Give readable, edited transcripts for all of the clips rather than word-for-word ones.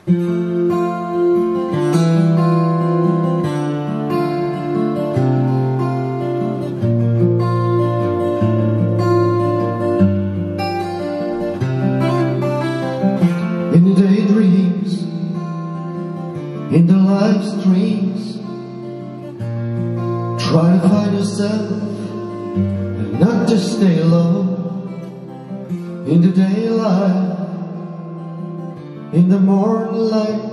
In the daydreams, in the live streams, try to find yourself and not just stay alone. In the daylight, in the morning light,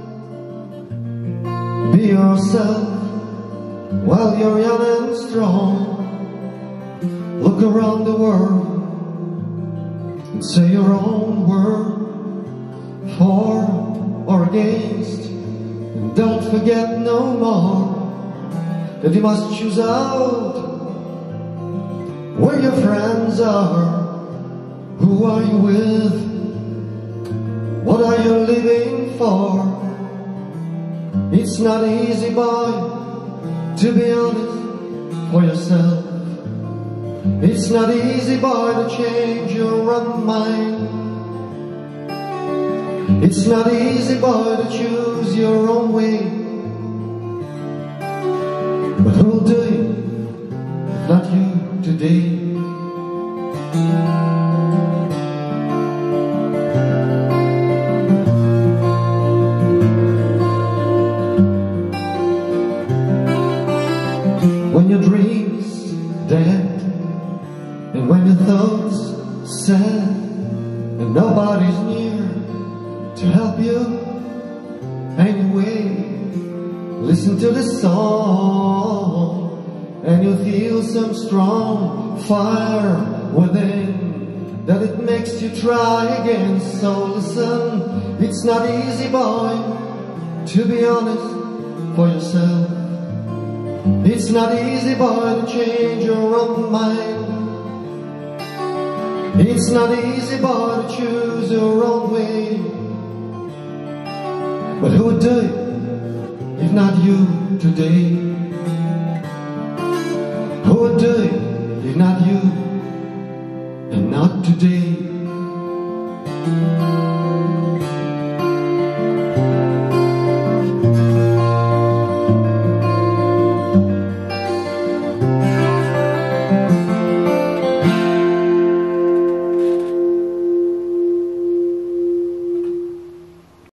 be yourself while you're young and strong. Look around the world and say your own word, for or against, and don't forget no more that you must choose out where your friends are. Who are you with? What are you living for? It's not easy, boy, to be honest for yourself. It's not easy, boy, to change your own mind. It's not easy, boy, to choose your own way. But who'll do it if not you today? When your dreams dead, and when your thoughts sad, and nobody's near to help you anyway, listen to this song, and you'll feel some strong fire within, that it makes you try again. So listen, it's not easy, boy, to be honest for yourself. It's not easy, boy, to change your own mind. It's not easy, boy, to choose your own way. But who would do it if not you today? Who would do it if not you, and not today?